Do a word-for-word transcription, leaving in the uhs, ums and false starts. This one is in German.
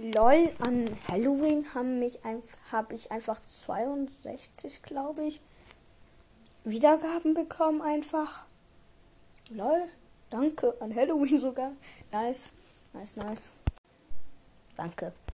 Lol, an Halloween haben mich habe ich einfach zweiundsechzig, glaube ich, Wiedergaben bekommen einfach. Lol, danke, an Halloween sogar. Nice, nice, nice. Danke.